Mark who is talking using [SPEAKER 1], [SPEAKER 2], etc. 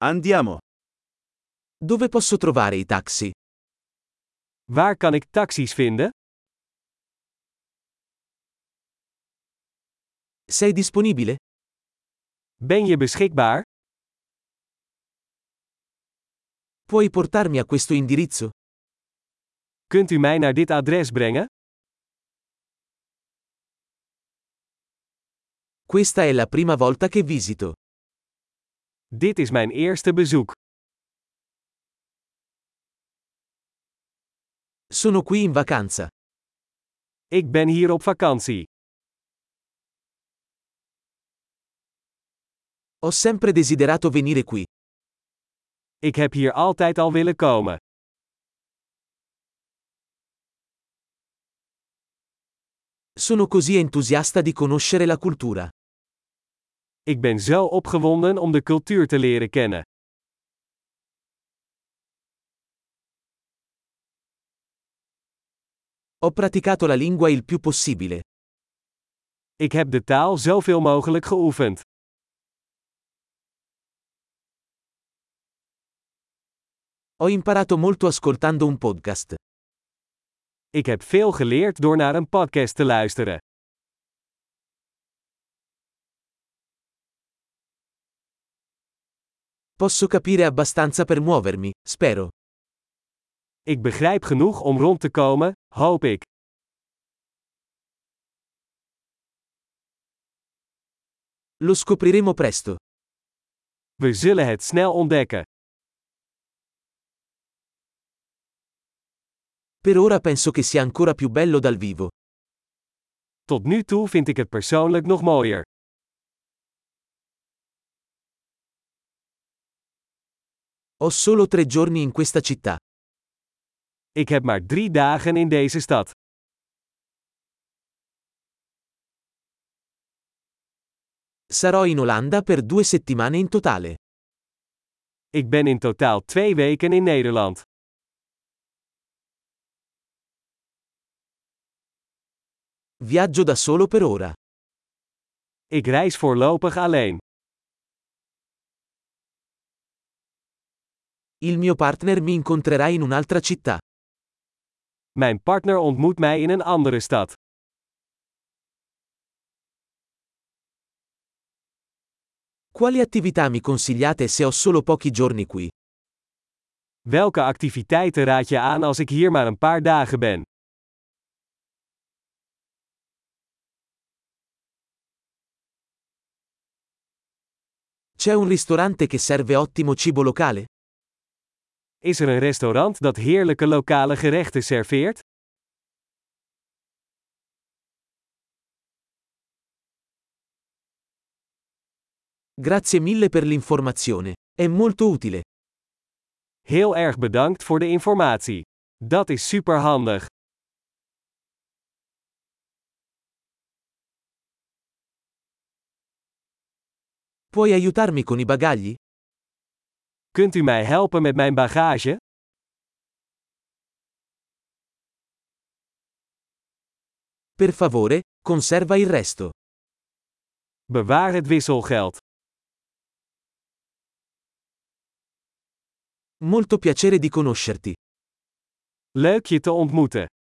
[SPEAKER 1] Andiamo.
[SPEAKER 2] Dove posso trovare i taxi?
[SPEAKER 3] Waar kan ik taxis vinden?
[SPEAKER 2] Sei disponibile?
[SPEAKER 3] Ben je beschikbaar?
[SPEAKER 2] Puoi portarmi a questo indirizzo?
[SPEAKER 3] Kunt u mij naar dit adres brengen?
[SPEAKER 2] Questa è la prima volta che visito.
[SPEAKER 3] Dit is mijn eerste bezoek.
[SPEAKER 2] Sono qui in vacanza.
[SPEAKER 3] Ik ben hier op vakantie.
[SPEAKER 2] Ho sempre desiderato venire qui.
[SPEAKER 3] Ik heb hier altijd al willen komen.
[SPEAKER 2] Sono così entusiasta di conoscere la cultura.
[SPEAKER 3] Ik ben zo opgewonden om de cultuur te leren kennen.
[SPEAKER 2] Ho praticato la lingua il più possibile.
[SPEAKER 3] Ik heb de taal zoveel mogelijk geoefend.
[SPEAKER 2] Ho imparato molto ascoltando un podcast.
[SPEAKER 3] Ik heb veel geleerd door naar een podcast te luisteren.
[SPEAKER 2] Posso capire abbastanza per muovermi, spero.
[SPEAKER 3] Ik begrijp genoeg om rond te komen, hoop ik.
[SPEAKER 2] Lo scopriremo presto.
[SPEAKER 3] We zullen het snel ontdekken.
[SPEAKER 2] Per ora penso che sia ancora più bello dal vivo.
[SPEAKER 3] Tot nu toe vind ik het persoonlijk nog mooier.
[SPEAKER 2] Ho solo 3 giorni in questa città.
[SPEAKER 3] Ik heb maar 3 dagen in deze stad.
[SPEAKER 2] Sarò in Olanda per 2 settimane in totale.
[SPEAKER 3] Ik ben in totaal 2 weken in Nederland.
[SPEAKER 2] Viaggio da solo per ora.
[SPEAKER 3] Ik reis voorlopig alleen.
[SPEAKER 2] Il mio partner mi incontrerà in un'altra città.
[SPEAKER 3] Mijn partner ontmoet mij in een andere stad.
[SPEAKER 2] Quali attività mi consigliate se ho solo pochi giorni qui?
[SPEAKER 3] Welke activiteiten raad je aan als ik hier maar een paar dagen ben?
[SPEAKER 2] C'è un ristorante che serve ottimo cibo locale?
[SPEAKER 3] Is er een restaurant dat heerlijke lokale gerechten serveert?
[SPEAKER 2] Grazie mille per l'informazione. È molto utile.
[SPEAKER 3] Heel erg bedankt voor de informatie. Dat is superhandig.
[SPEAKER 2] Puoi aiutarmi con i bagagli?
[SPEAKER 3] Kunt u mij helpen met mijn bagage?
[SPEAKER 2] Per favore, conserva il resto.
[SPEAKER 3] Bewaar het wisselgeld.
[SPEAKER 2] Molto piacere di conoscerti.
[SPEAKER 3] Leuk je te ontmoeten.